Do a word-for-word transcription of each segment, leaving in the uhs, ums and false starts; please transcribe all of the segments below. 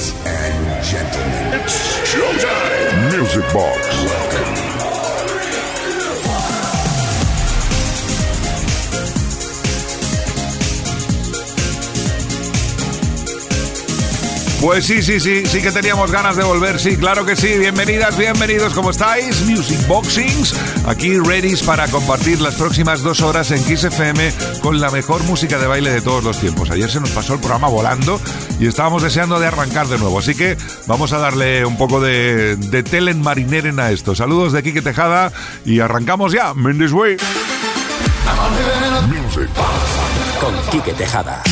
Ladies and gentlemen, it's showtime! Music Box. Welcome. Pues sí, sí, sí, sí que teníamos ganas de volver, sí, claro que sí. Bienvenidas, bienvenidos, ¿cómo estáis? Music Boxings, aquí ready para compartir las próximas dos horas en Kiss F M con la mejor música de baile de todos los tiempos. Ayer se nos pasó el programa volando y estábamos deseando de arrancar de nuevo, así que vamos a darle un poco de, de telen marineren a esto. Saludos de Quique Tejada y arrancamos ya, in this way. Music Box con Quique Tejada.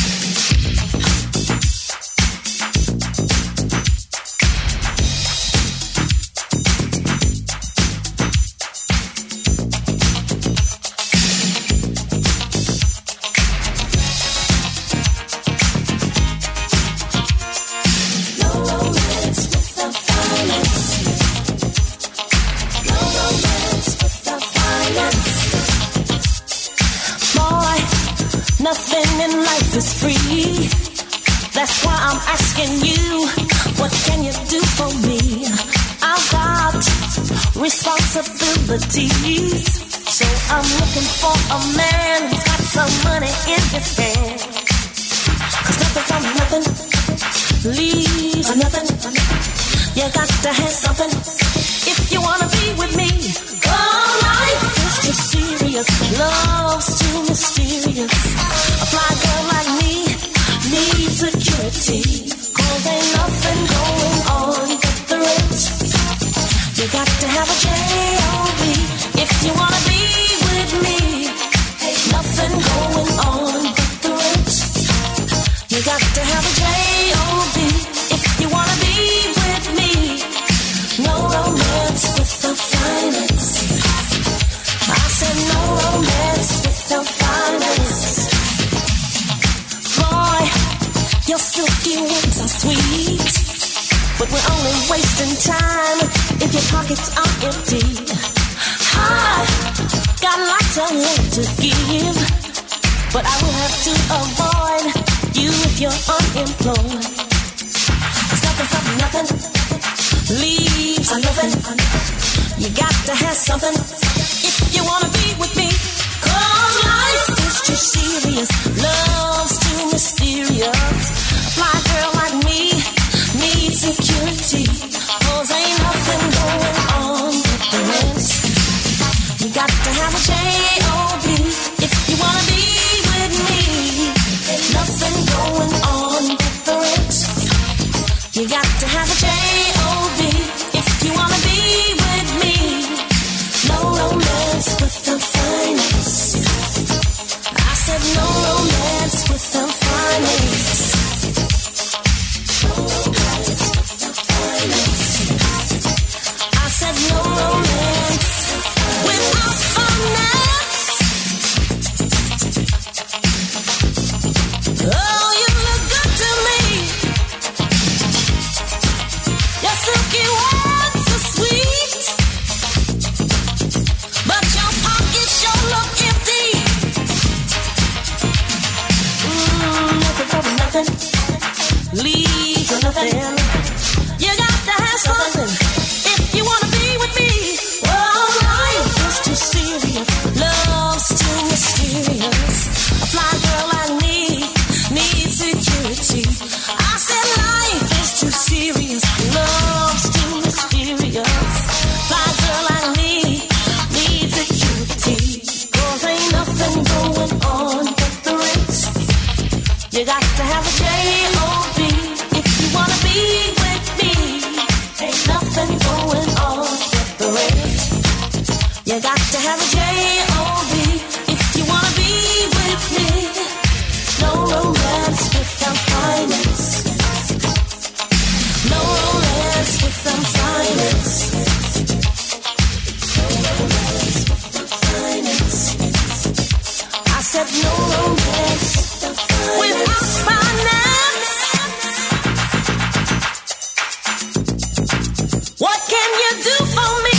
Nothing in life is free. That's why I'm asking you, what can you do for me? I've got responsibilities, so I'm looking for a man who's got some money in his hand. Cause nothing from nothing leaves nothing. You got to have something if you wanna be with me. Oh, life is too serious, love's too mysterious. A fly girl like me needs security, cause ain't nothing going on but the rent. You got to have a J O B if you wanna be with me. Ain't nothing going on but the rent. You got to have a J O B if you wanna be with me. No romance without finance. I said no romance without finance. Boy, your silky words are sweet, but we're only wasting time if your pockets are empty. I got lots of love to give, but I will have to avoid you if you're unemployed. Cause nothing from nothing leaves nothing. You got to have something if you wanna be with me. Cause life is too serious, love's too mysterious. A fly girl like me needs security, cause ain't nothing going on with the rest. You got to have a J O B if you wanna be with me. Ain't nothing going on with the rest. You got to have a J O B if you wanna be with me. No romance without finance. I said no romance without finance. No romance without finance. I said no romance without finance. Oh, you look good to me. Your silky words are sweet, but your pockets sure look empty. Mm, nothing from nothing leaves nothing. You got to have something if you wanna be with me. Oh, life is too serious, love's too mysterious. A fly girl like me needs security. I said life is too serious, love's too mysterious. Fly girl like me needs security, cause ain't nothing going on but the rent. You got to have a J O B if you wanna be with me. Ain't nothing going on but the rent. You got to have a J O B if you wanna be with me. No romance without finance. No romance without finance. No romance without finance. I said no romance without finance. What can you do for me?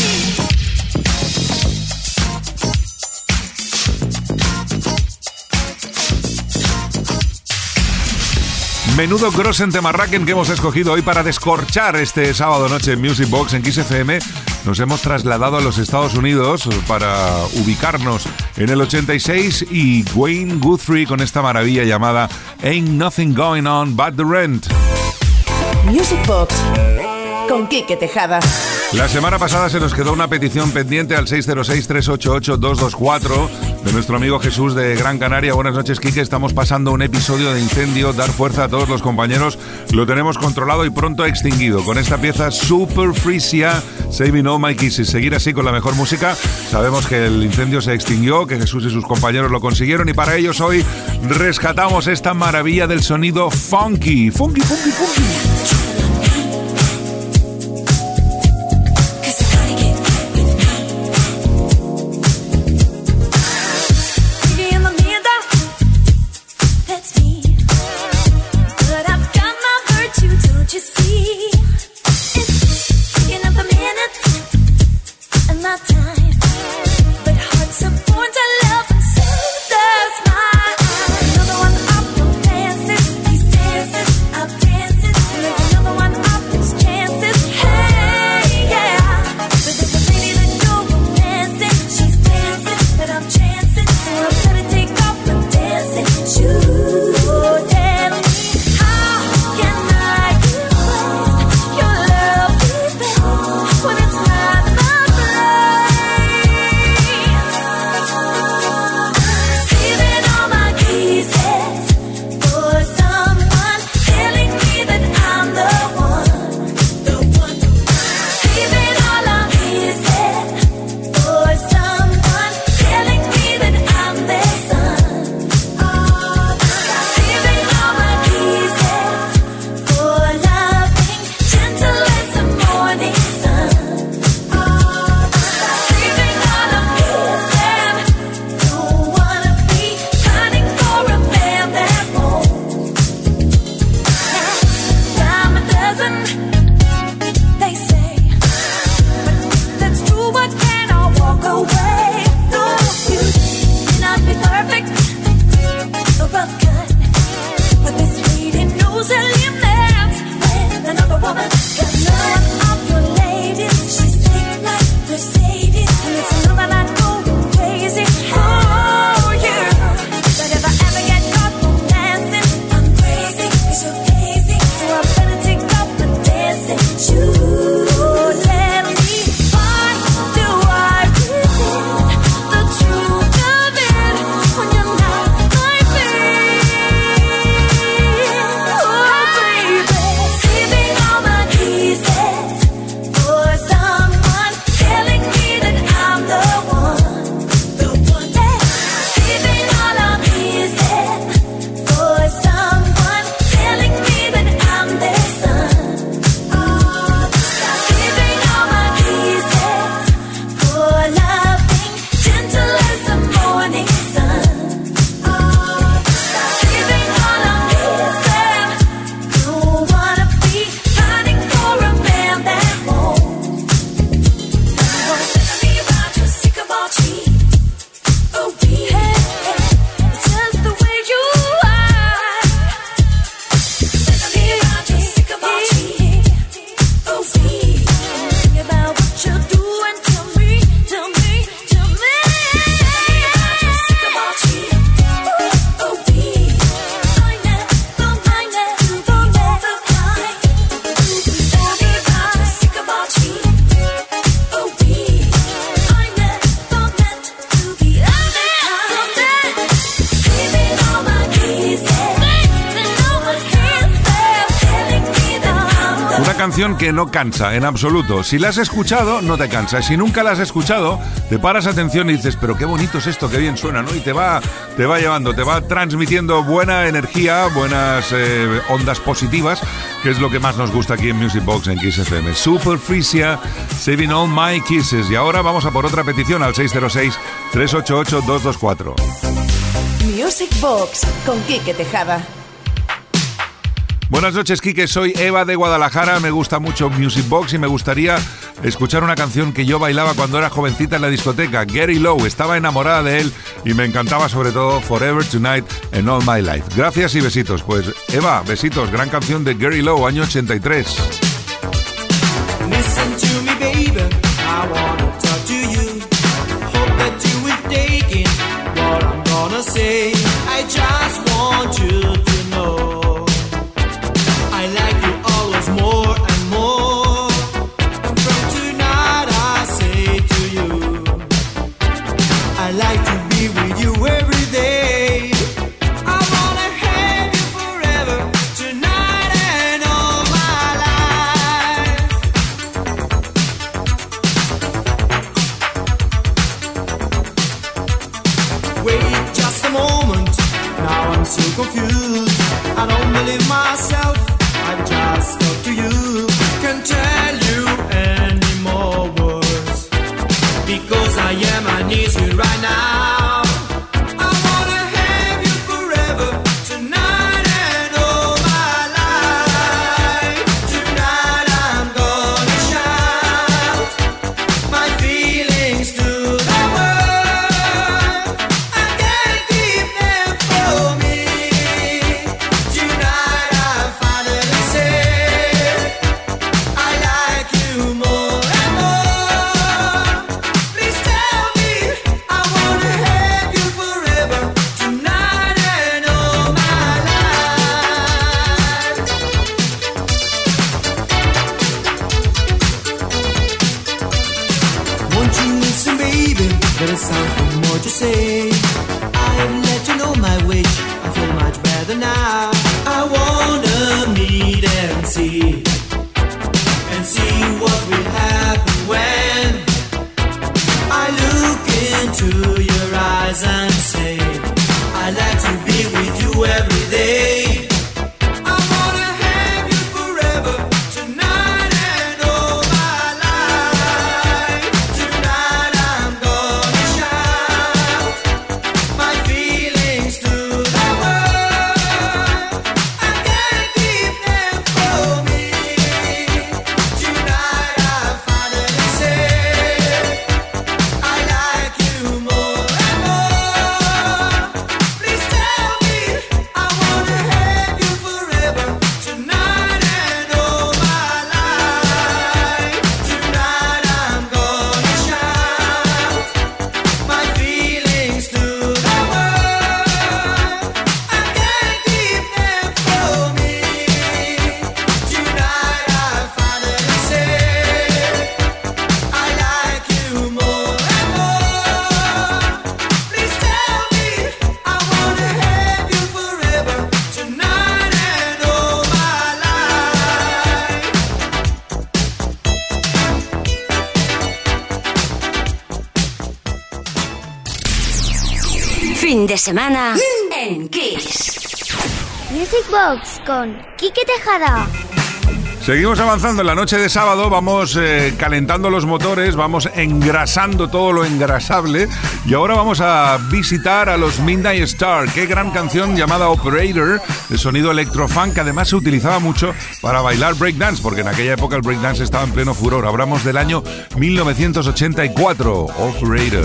Menudo Grossen Temarraken que hemos escogido hoy para descorchar este sábado noche en Music Box en Kiss F M. Nos hemos trasladado a los Estados Unidos para ubicarnos en el ochenta y seis y Wayne Guthrie con esta maravilla llamada Ain't Nothing Going On But The Rent. Music Box con Quique Tejada. La semana pasada se nos quedó una petición pendiente al seis cero seis, tres ocho ocho, dos dos cuatro de nuestro amigo Jesús de Gran Canaria. Buenas noches, Quique. Estamos pasando un episodio de incendio. Dar fuerza a todos los compañeros. Lo tenemos controlado y pronto extinguido. Con esta pieza Super Frisia, Saving All My Kisses. Seguir así con la mejor música. Sabemos que el incendio se extinguió, que Jesús y sus compañeros lo consiguieron y para ellos hoy rescatamos esta maravilla del sonido funky. Funky, funky, funky. Canción que no cansa en absoluto. Si la has escuchado, no te cansa. Si nunca la has escuchado, te paras atención y dices, pero qué bonito es esto, qué bien suena, ¿no? Y te va, te va llevando, te va transmitiendo buena energía, buenas eh, ondas positivas, que es lo que más nos gusta aquí en Music Box en Kiss F M. Super Frisia, Saving All My Kisses. Y ahora vamos a por otra petición al seis cero seis, tres ocho ocho, dos dos cuatro. Music Box con Quique Tejada. Buenas noches, Quique. Soy Eva de Guadalajara. Me gusta mucho Music Box y me gustaría escuchar una canción que yo bailaba cuando era jovencita en la discoteca, Gary Lowe. Estaba enamorada de él y me encantaba sobre todo Forever Tonight and All My Life. Gracias y besitos. Pues Eva, besitos, gran canción de Gary Lowe, año ochenta y tres. Listen to me, baby, I wanna talk to you. Hope that you will take in what I'm gonna say. I just want you to know I like you always more and more. And from tonight I say to you, I like to be with you every day. I wanna have you forever, tonight and all my life. Wait just a moment, now I'm so confused. I don't believe myself, I've just talked to you. Can't tell you any more words, because I am, I need you right now. I wanna have you forever, tonight and all my life. Tonight I'm gonna shout my feelings to the world. I can't keep them from me. Tonight I finally say I like you more and more. Please tell me I wanna have you forever, tonight and all my life. Won't you listen, baby? There is something more to say. I have let you know my wish. I feel much better now. I wanna meet and see, and see what will happen when I look into your eyes and say I like to be with you every day. I wanna have you forever, tonight and all my life. Tonight I'm gonna shout my feelings to the world. I can't keep them from me. Tonight I finally say I like you more and more. Please tell me I wanna have you forever, tonight and all my life. Tonight I'm gonna shout my feelings to the world. I can't keep them from me. Tonight I finally say I like you more and more. Please tell me I wanna have you forever, tonight and all my life. Fin de semana en Kiss. Music Box con Quique Tejada. Seguimos avanzando en la noche de sábado, vamos eh, calentando los motores, vamos engrasando todo lo engrasable y ahora vamos a visitar a los Midnight Star. Qué gran canción llamada Operator, de sonido electrofunk, que además se utilizaba mucho para bailar breakdance, porque en aquella época el breakdance estaba en pleno furor. Hablamos del año mil novecientos ochenta y cuatro, Operator.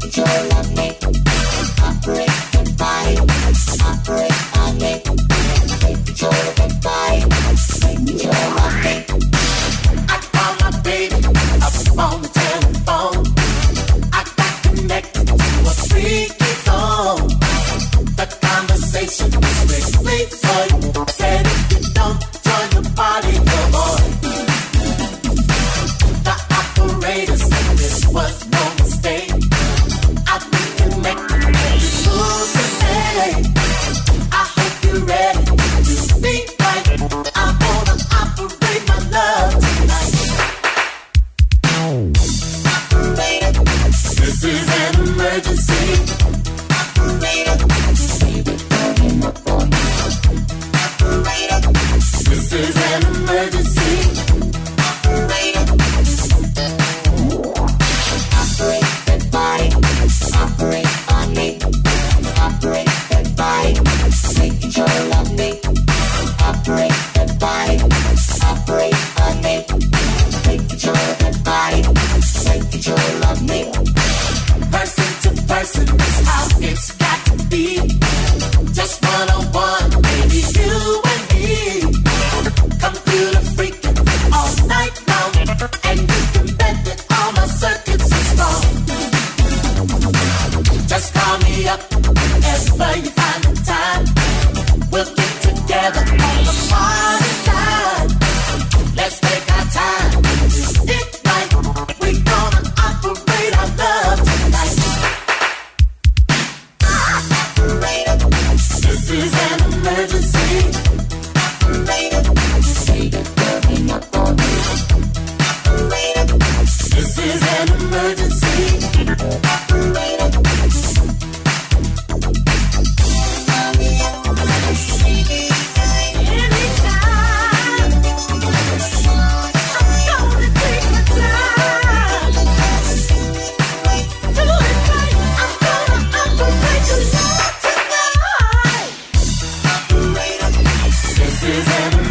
On the telephone, I got connected to a freaky phone. The conversation was strictly fun. I said, if you don't join the party, come on. The operator said this was no mistake. I've been connected to you today. I hope you're ready to meet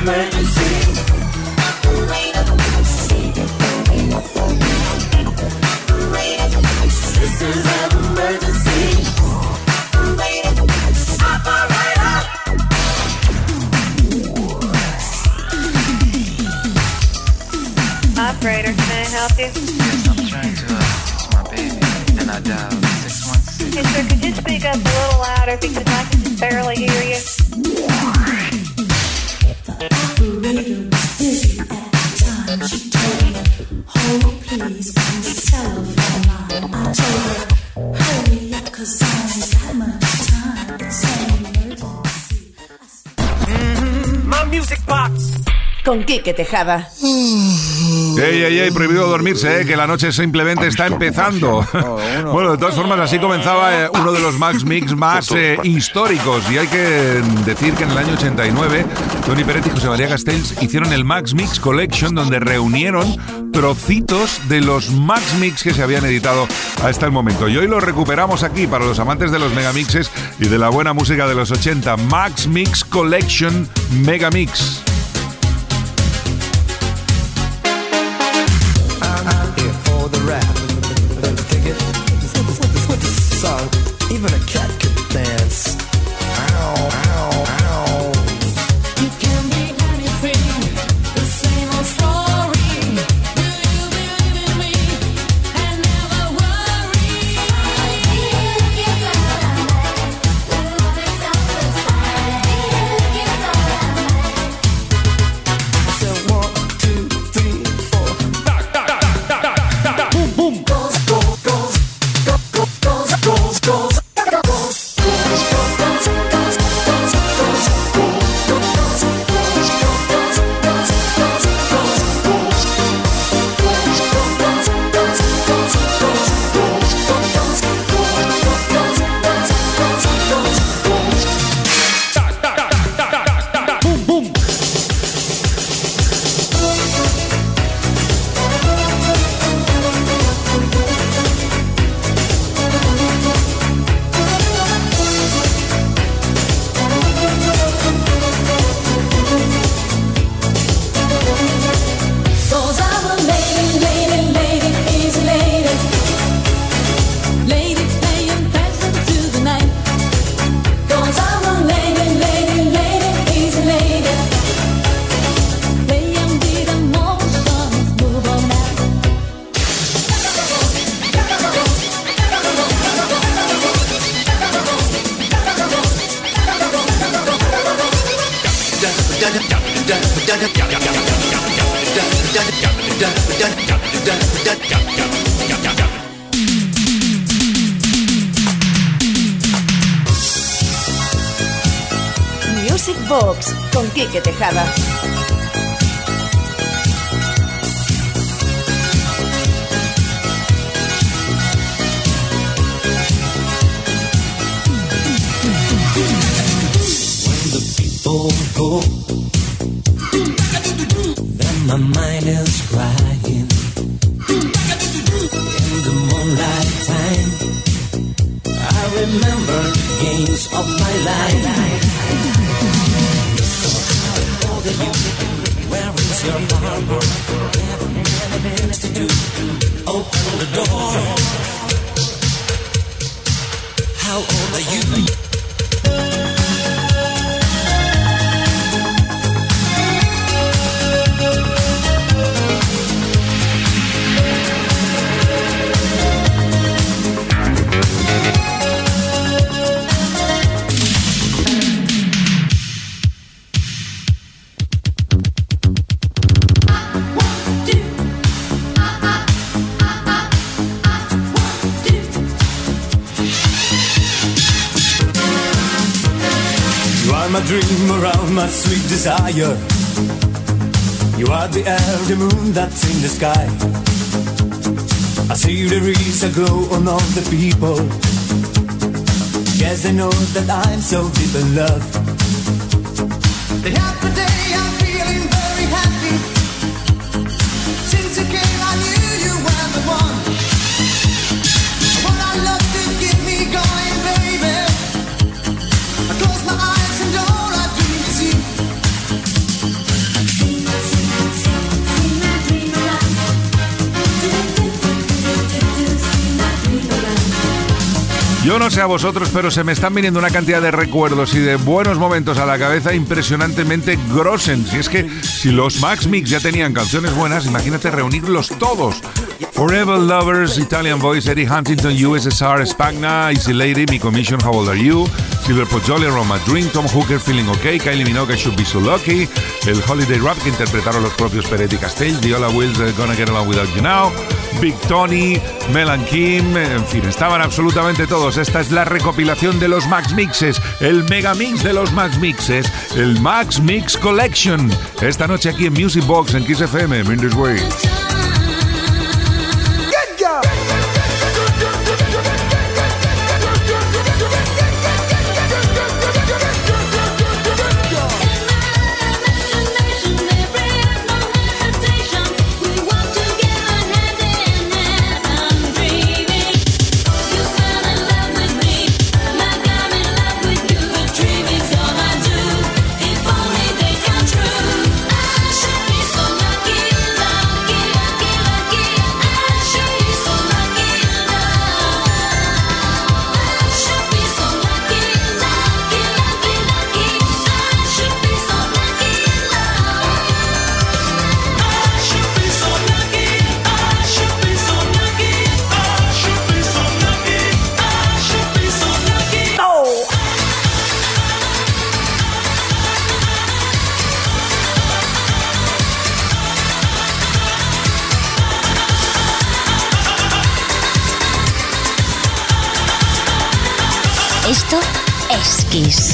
Operator, can I help you? Yes, I'm trying to, uh, it's my baby, and I dialed six one six. Hey, sir, could you speak up a little louder because I can just barely hear you? Operator busy at times. She told me, hold please on the telephone line. I told her, hurry up cause I ain't got much time. It's an emergency. Mm-hmm. My music box. Con Quique Tejada. Ey, ey, ey, prohibido dormirse, eh, que la noche simplemente está empezando. Bueno, de todas formas, así comenzaba eh, uno de los Max Mix más eh, históricos. Y hay que decir que en el año ochenta y nueve, Tony Peret y José María Castells hicieron el Max Mix Collection, donde reunieron trocitos de los Max Mix que se habían editado hasta el momento. Y hoy los recuperamos aquí para los amantes de los megamixes y de la buena música de los ochenta. Max Mix Collection Megamix. Song. Even a cat could dance. Ow, ow, ow. You can be anything, the same old story. Do you believe in me and never worry? I feel you got a man, lose yourself inside. So one, two, three, four. Da, da, da, da, da, da. Boom, boom. Goes, goes, goes. Music Box con Quique Tejada. When the people go, then my mind is crying. In the moonlight time, I remember the games of my life. All the youth, where is your harbor? Never many things to do. Open the door. How old are you? My dream around my sweet desire. You are the air, the moon that's in the sky. I see there is a glow on all the people. Yes, I know that I'm so deep in love. The happy day, I'm feeling very happy. Since you came, I knew you were the one. What I love to get me going, baby. I close my eyes and all I dream is you. Yo no sé a vosotros, pero se me están viniendo una cantidad de recuerdos y de buenos momentos a la cabeza impresionantemente grosen. Si es que si los Max Mix ya tenían canciones buenas, imagínate reunirlos todos. Forever Lovers, Italian Voice, Eddie Huntington, U S S R, Spagna, Easy Lady, Mi Commission, How Old Are You, Silver Pozzoli, Roma Dream, Tom Hooker, Feeling OK, Kylie Minogue, I Should Be So Lucky, el Holiday Rap que interpretaron los propios Peretti Castell, Viola Wills, uh, Gonna Get Along Without You Now, Big Tony, Mel and Kim, en fin, estaban absolutamente todos. Esta es la recopilación de los Max Mixes, el mega mix de los Max Mixes, el Max Mix Collection. Esta noche aquí en Music Box en Kiss F M, In This Way. Esto es Kiss.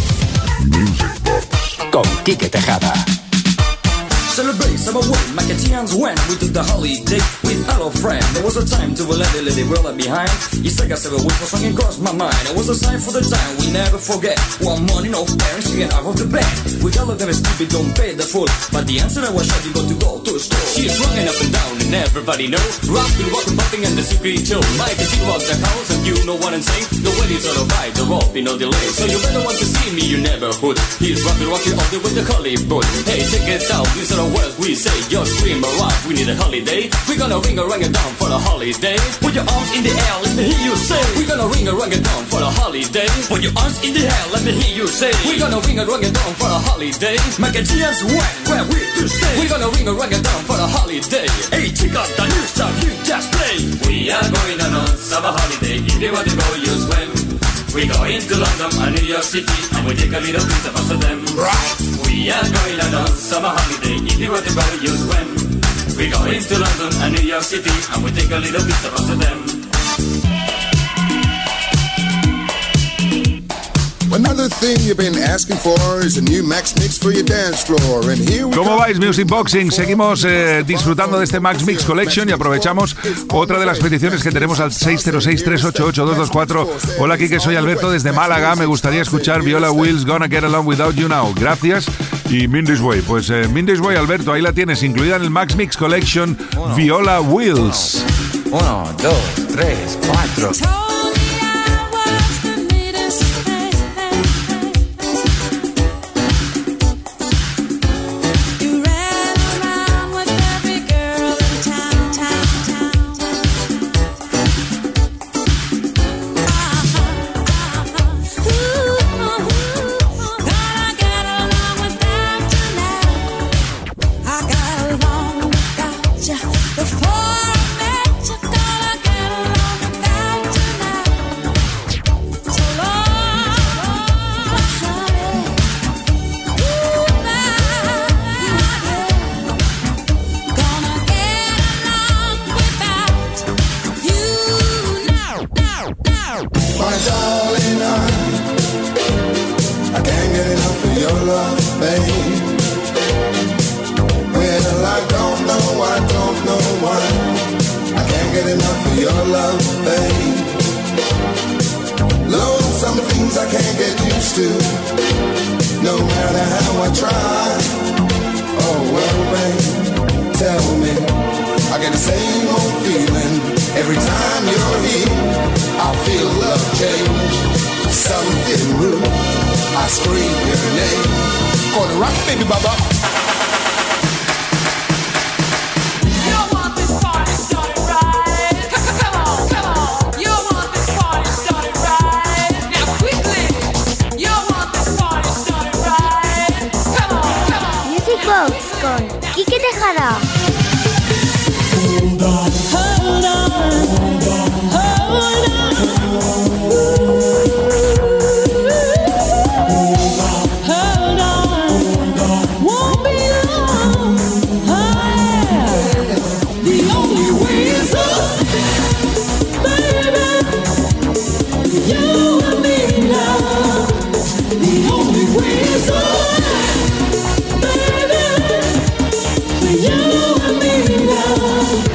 Con Quique Tejada. Celebrate summer win, Macatians when we took the holiday with our friend. There was a time to let the lady world behind. You take us every week for something crossed my mind. It was a sign for the time we never forget. One morning, no parents to get out of the bed. We all of them stupid, don't pay the full. But the answer I was sure you got to go to a store. She's running up and down and everybody know. Rockin', walking, bumping and the secret too. Mike and she walks the house and you know what I'm saying. The wedding's all right, the rope, no delay. So you better want to see me, you never would. He's rockin', rockin' all the way to Hollywood. Hey, check it out, these are the words we say. Just scream around, we need a holiday. We're gonna ring a rang a down for a holiday. Put your arms in the air, let me hear you say. We're gonna ring a rang a down for a holiday. Put your arms in the air, let me hear you say. We're gonna ring a rang a down for a holiday. Macatians when, where we to stay. We're gonna ring a rang a down for a holiday. Hey, check out the new stuff you just play. We are going on a summer holiday. If you want to go, you swim. We go into London and New York City and we take a little piece of us of them. Right. We are going on a summer holiday. If you want to go, you swim. We go into London and New York City and we take a little piece of us of them. Another thing you've been asking for is a new Max Mix for your dance floor. And here we ¿Cómo vais, Music Boxing? Seguimos eh, disfrutando de este Max Mix Collection y aprovechamos otra de las peticiones que tenemos al seis cero seis, tres ocho ocho, dos dos cuatro. Hola, Kike, soy Alberto desde Málaga. Me gustaría escuchar Viola Wills, Gonna Get Along Without You Now. Gracias. Y Mean This Way. Pues eh, Mean This Way, Alberto, ahí la tienes, incluida en el Max Mix Collection, Viola Wills. Uno, dos, tres, cuatro. Right. Box con Quique Tejada. Hold on, hold on, hold on. Hold on, won't be long. The only way is up, baby. You and me now. The only way is up, baby. You and me now.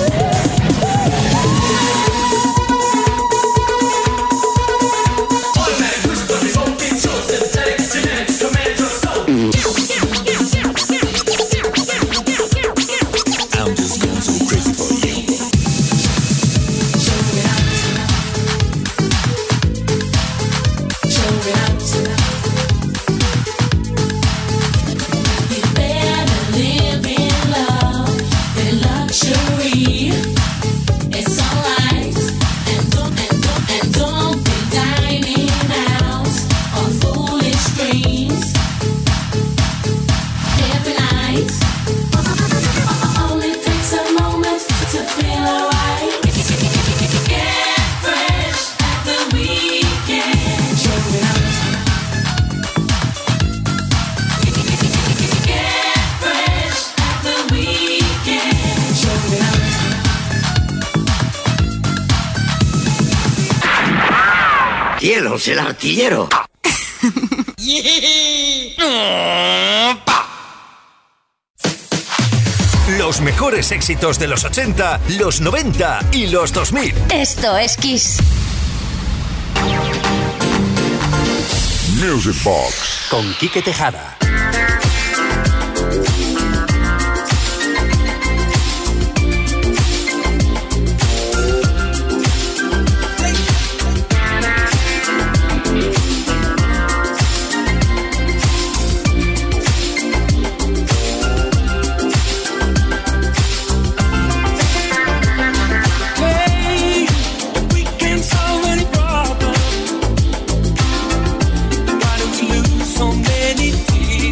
¡Cielos, el artillero! Los mejores éxitos de los ochenta, los noventa y los dos mil. Esto es Kiss. Music Box con Quique Tejada. So many tears.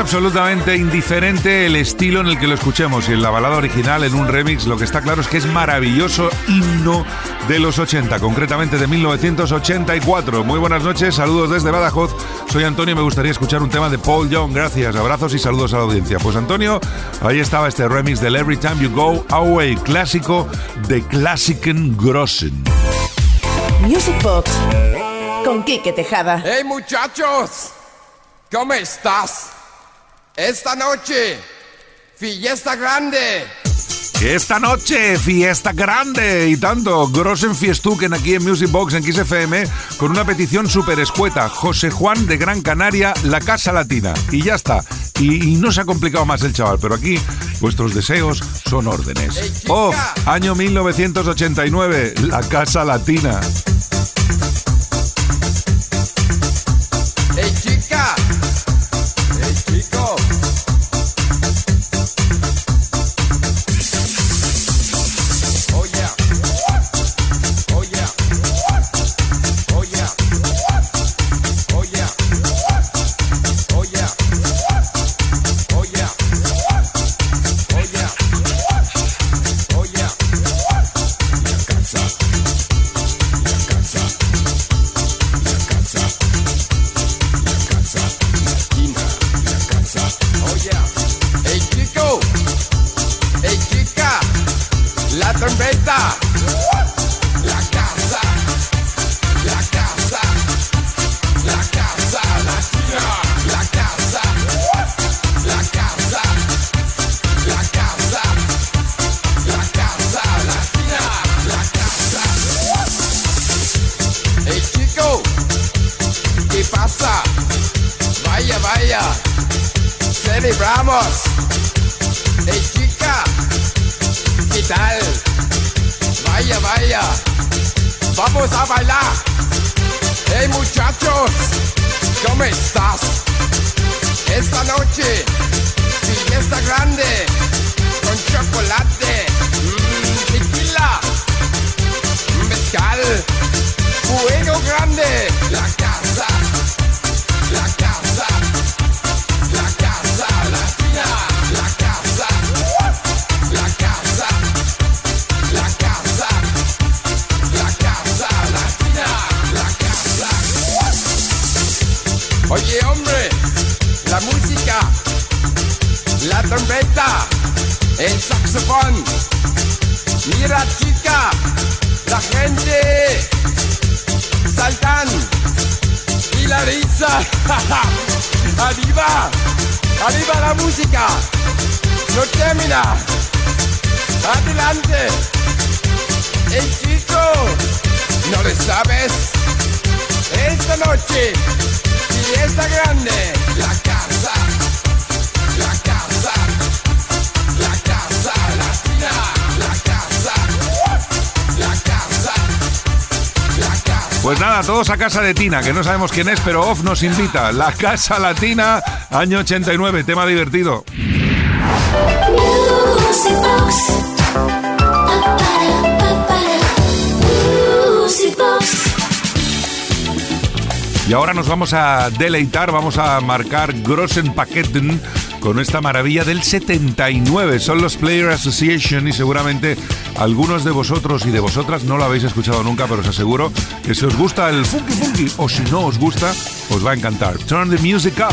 absolutamente indiferente el estilo en el que lo escuchemos, y en la balada original, en un remix, lo que está claro es que es maravilloso himno de los ochenta, concretamente de mil novecientos ochenta y cuatro. Muy buenas noches, saludos desde Badajoz. Soy Antonio y me gustaría escuchar un tema de Paul Young. Gracias, abrazos y saludos a la audiencia. Pues Antonio, ahí estaba este remix del Every Time You Go Away, clásico de Klassiken Grossen. Music Box con Quique Tejada. ¡Hey muchachos! ¿Cómo estás? Esta noche, fiesta grande. Esta noche, fiesta grande y tanto. Grossen Fiestuken aquí en Music Box en Kiss F M con una petición súper escueta. José Juan de Gran Canaria, La Casa Latina. Y ya está. Y, y no se ha complicado más el chaval, pero aquí vuestros deseos son órdenes. Hey, Off, año mil novecientos ochenta y nueve, La Casa Latina. ¡Hey chica! ¡Hey chico! Oh yeah. Oh yeah. Oh yeah. Oh yeah. Oh yeah. Oh yeah. Oh yeah. Oh yeah. La casa. La casa. La casa. Latina, la casa. Oh yeah. Hey chico, hey chica, la trompeta, la casa, la casa, la casa latina, la casa, la casa, la casa, la casa latina, la casa. Hey chico, ¿qué pasa? Vaya, vaya, celebramos. Hey chica, ¿qué tal? Vaya, vaya, vamos a bailar. Hey muchachos, ¿cómo estás? Esta noche, fiesta grande, con chocolate, mmm, tequila, mezcal, fuego grande, la casa. La casa, la casa latina, la casa, la casa, la casa, la casa latina, la casa. Oye hombre, la música, la trompeta, el saxofón. Mira chica, la gente saltan. Y la risa, arriba, arriba la música, no termina, adelante, el chico, no le sabes, esta noche, fiesta grande, la casa, la casa, la casa latina, la casa, la casa, la casa. Pues nada, todos a casa de Tina, que no sabemos quién es, pero Off nos invita. La Casa Latina, año ochenta y nueve, tema divertido. Music Box. Music Box. Y ahora nos vamos a deleitar, vamos a marcar Grossen Paketen con esta maravilla del setenta y nueve. Son los Player Association y seguramente algunos de vosotros y de vosotras no lo habéis escuchado nunca, pero os aseguro que si os gusta el funky funky o si no os gusta, os va a encantar. Turn the music up.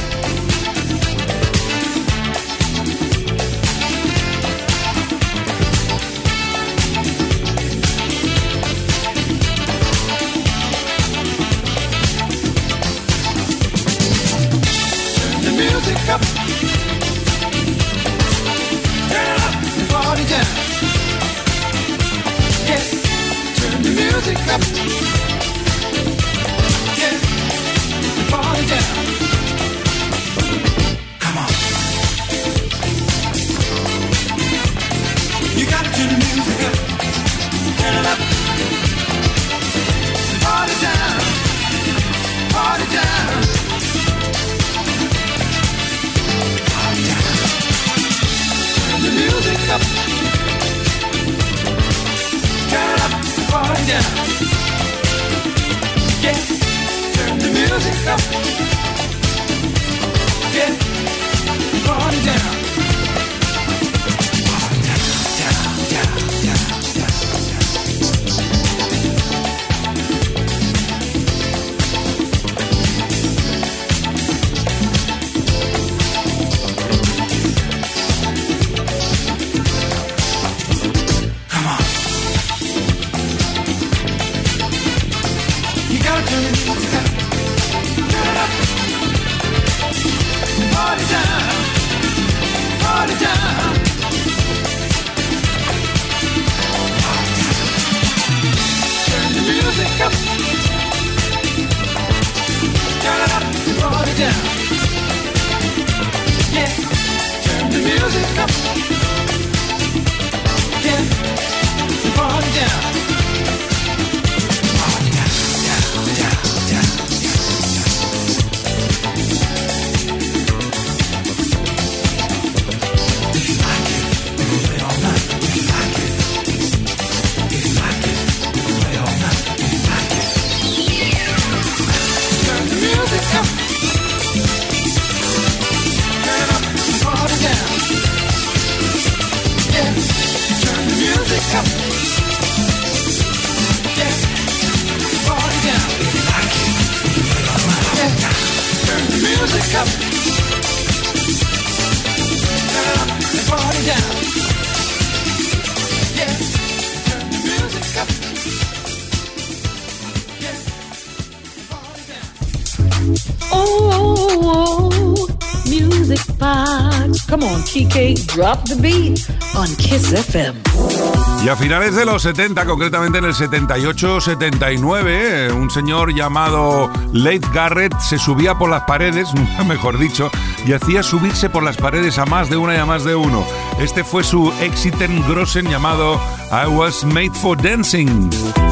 spot. Come on, K K, drop the beat on Kiss F M. Y a finales de los setenta, concretamente en el setenta y ocho setenta y nueve, un señor llamado Leif Garrett se subía por las paredes, mejor dicho, y hacía subirse por las paredes a más de una y a más de uno. Este fue su Exiten Grossen llamado I Was Made for Dancing.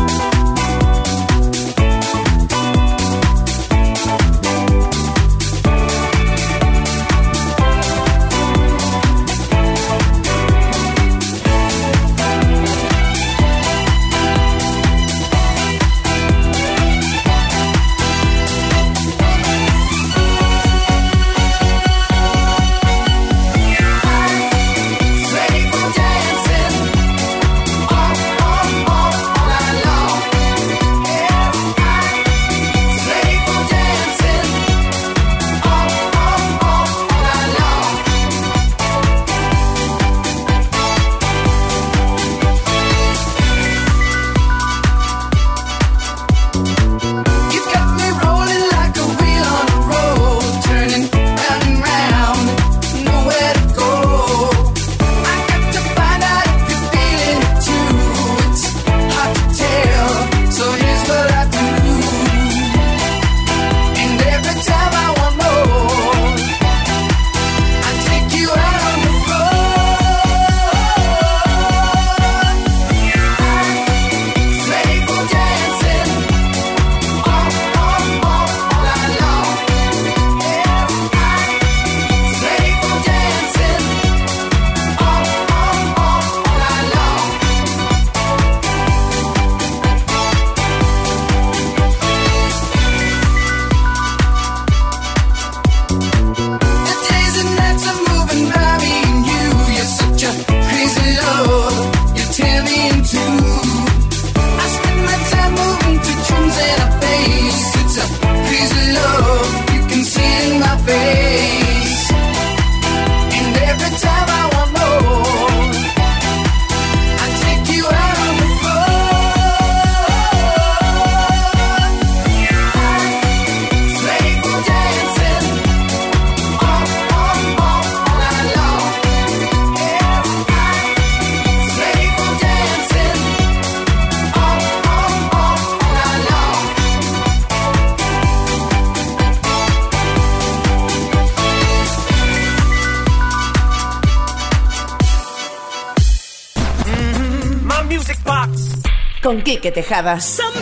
Con Quique Tejada.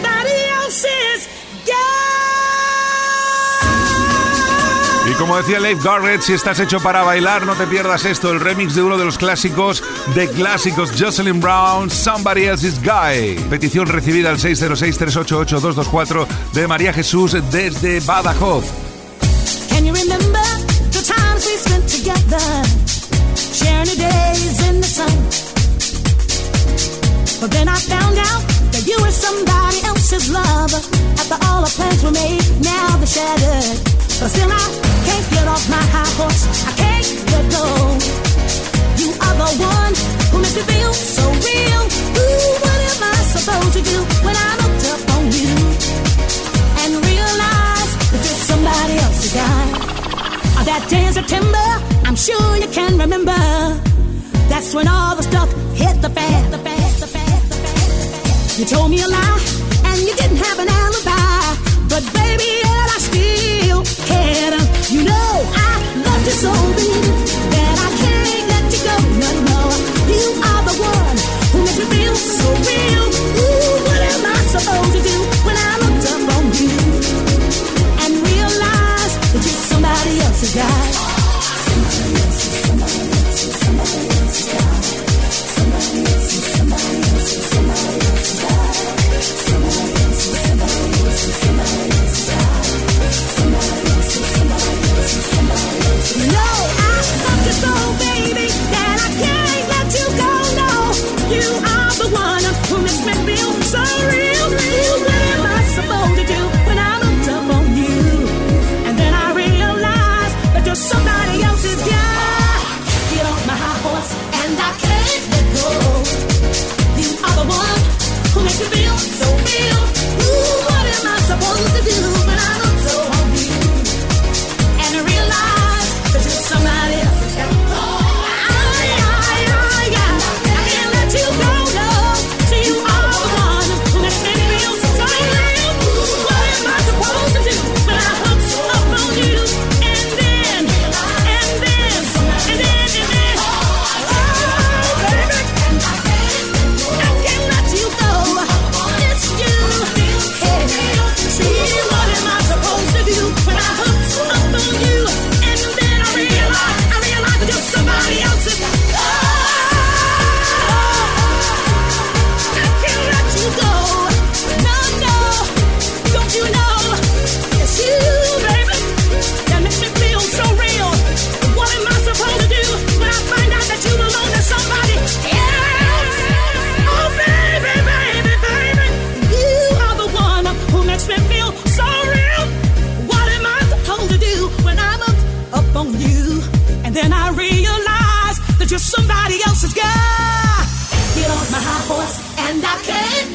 Y como decía Leif Garrett, si estás hecho para bailar, no te pierdas esto, el remix de uno de los clásicos de clásicos, Jocelyn Brown, Somebody Else's Guy. Petición recibida al seis cero seis, tres ocho ocho, dos dos cuatro de María Jesús desde Badajoz. Can you remember the times we spent together, sharing the days in the sun? But then I found out that you were somebody else's lover. After all our plans were made, now they're shattered. But still I can't get off my high horse, I can't let go. You are the one who makes me feel so real. Ooh, what am I supposed to do when I looked up on you and realized that you're somebody else's guy? On that day in September, I'm sure you can remember. That's when all the stuff hit the fan. The fan, the fan, the fan, the fan. You told me a lie, and you didn't have an alibi. But baby, yet I still cared. You know I loved you so deep that I can't let you go. No, no, you are the one who makes me feel so real. Ooh, what am I supposed to do when I looked up on you and realized that you're somebody else's guy? Somebody else's, somebody else's, somebody else's guy. Somebody else's, somebody else's, somebody else's guy. Somebody else's, somebody else's, somebody else's guy. Somebody else's, somebody else's, somebody else's. No, I love you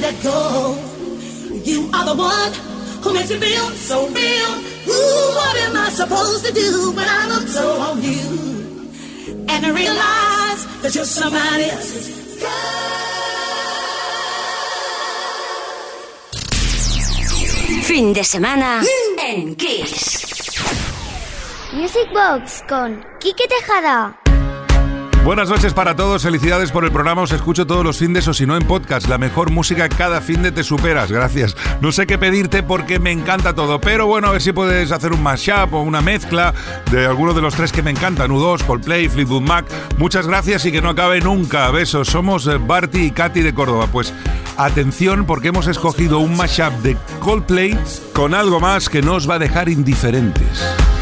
let go. You are the one who makes me feel so real. Ooh, what am I supposed to do when I look so on you? And I realize that you're somebody else's girl. Fin de semana en Kiss. Music Box con Quique Tejada. Buenas noches para todos, felicidades por el programa, os escucho todos los findes o si no en podcast, la mejor música cada finde te superas, gracias. No sé qué pedirte porque me encanta todo, pero bueno, a ver si puedes hacer un mashup o una mezcla de alguno de los tres que me encantan, U dos, Coldplay, Fleetwood Mac. Muchas gracias y que no acabe nunca, besos. Somos Barty y Katy de Córdoba, pues atención porque hemos escogido un mashup de Coldplay con algo más que no os va a dejar indiferentes.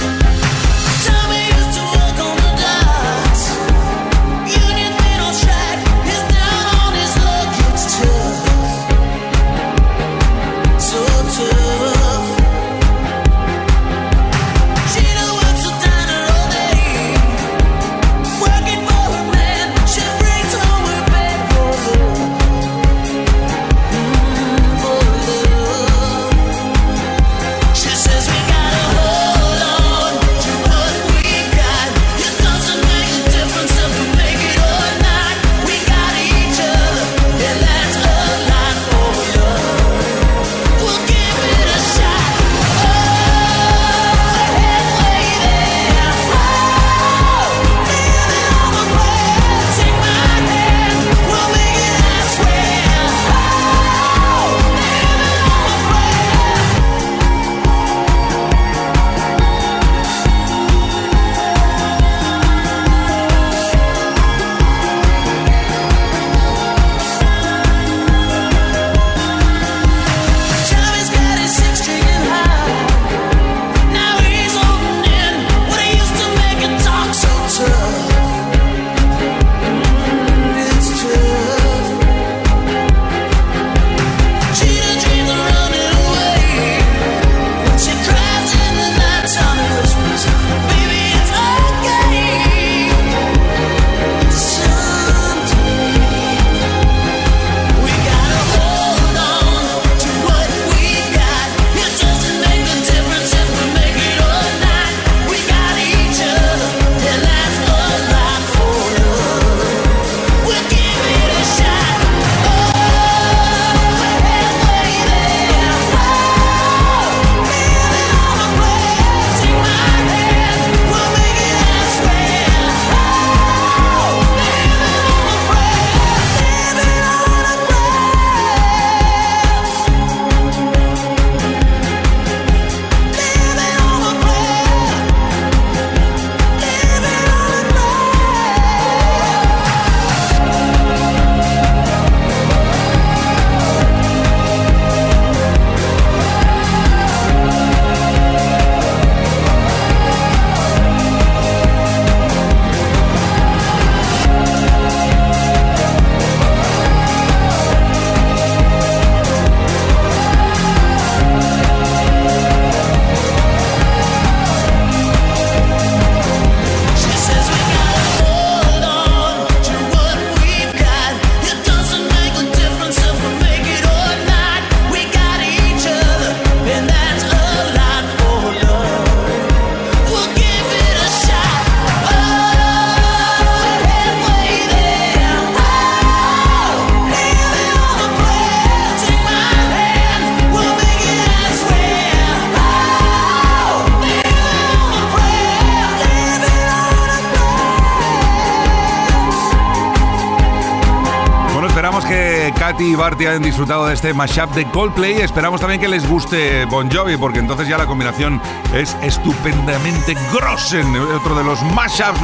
Katy y Barty han disfrutado de este mashup de Coldplay. Esperamos también que les guste Bon Jovi, porque entonces ya la combinación es estupendamente grossen. Otro de los mashups,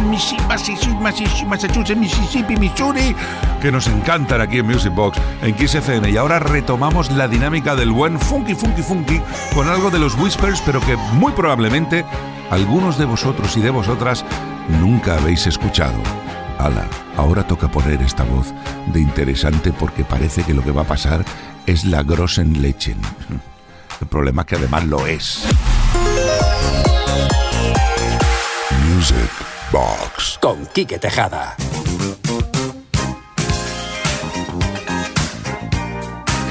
Massachusetts, Mississippi, Missouri, que nos encantan aquí en Music Box, en Kiss F M. Y ahora retomamos la dinámica del buen funky, funky, funky, con algo de los Whispers, pero que muy probablemente algunos de vosotros y de vosotras nunca habéis escuchado. Ala, ahora toca poner esta voz de interesante porque parece que lo que va a pasar es la Grossen Lechen. El problema es que además lo es. Music Box con Quique Tejada.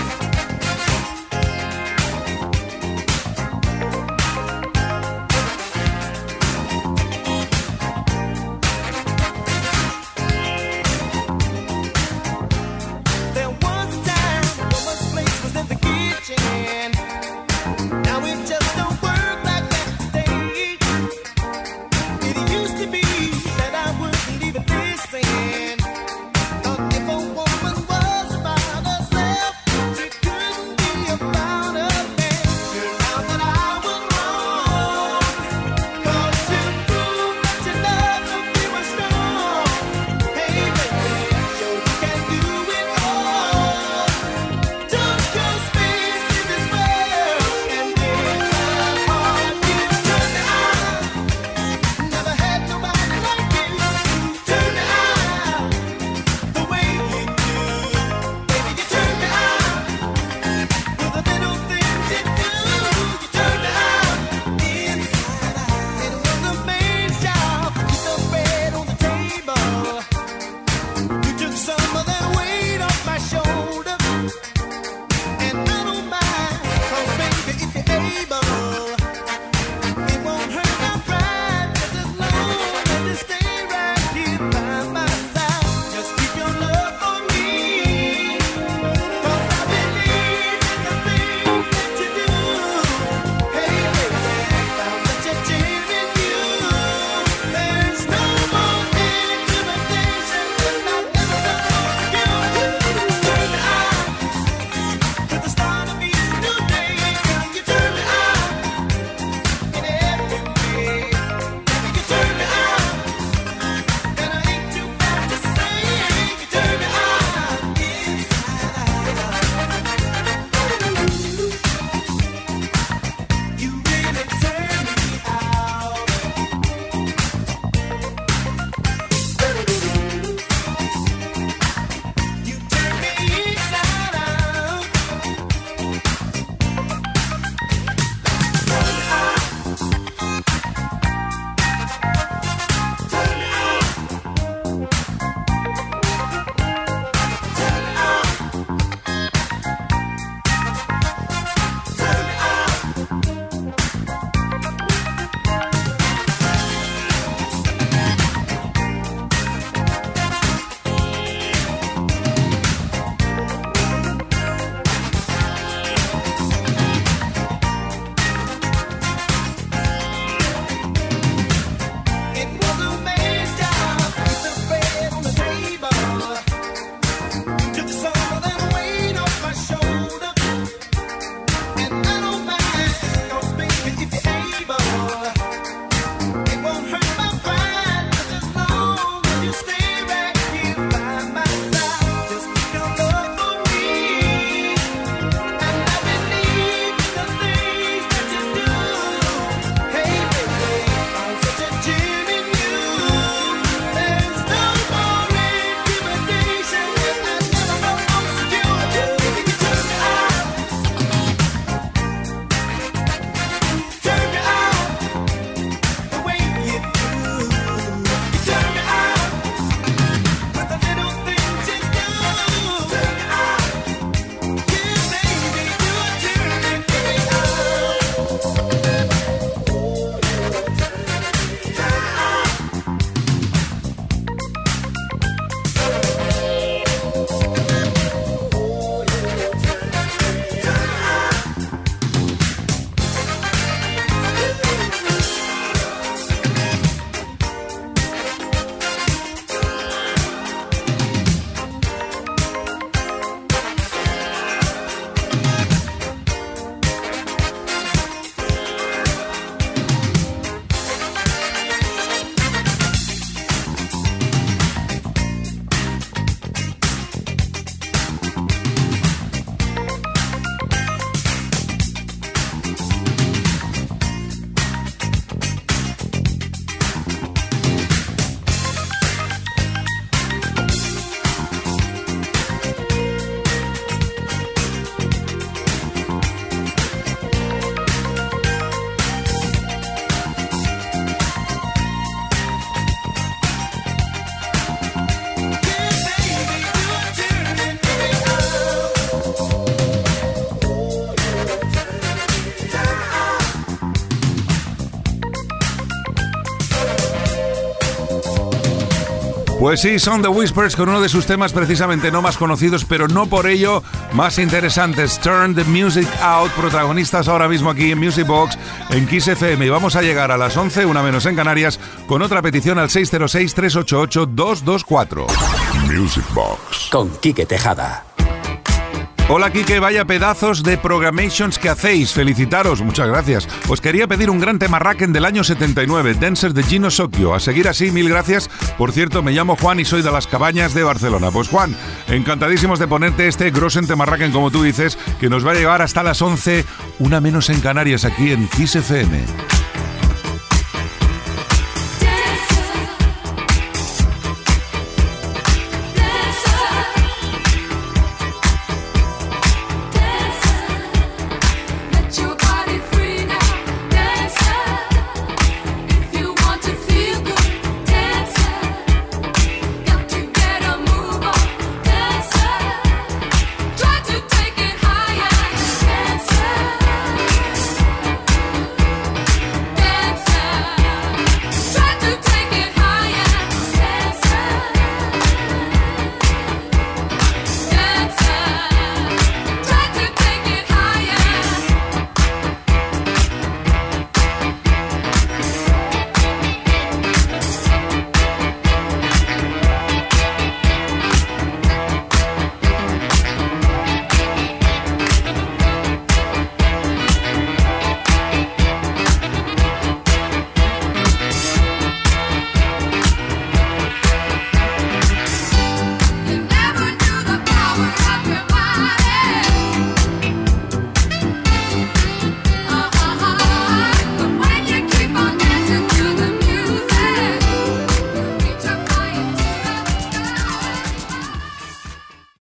Pues sí, son The Whispers con uno de sus temas precisamente no más conocidos, pero no por ello más interesantes. Turn the Music Out, protagonistas ahora mismo aquí en Music Box, en Kiss F M. Y vamos a llegar a las once, una menos en Canarias, con otra petición al seis cero seis, tres ocho ocho, dos dos cuatro. Music Box con Quique Tejada. Hola Quique, vaya pedazos de programations que hacéis, felicitaros, muchas gracias. Os quería pedir un gran tema Racken del año setenta y nueve, Dancer de Gino Socchio. A seguir así, mil gracias. Por cierto, me llamo Juan y soy de Las Cabañas de Barcelona. Pues Juan, encantadísimos de ponerte este Grossen tema Racken, como tú dices, que nos va a llevar hasta las once, una menos en Canarias, aquí en Kiss F M.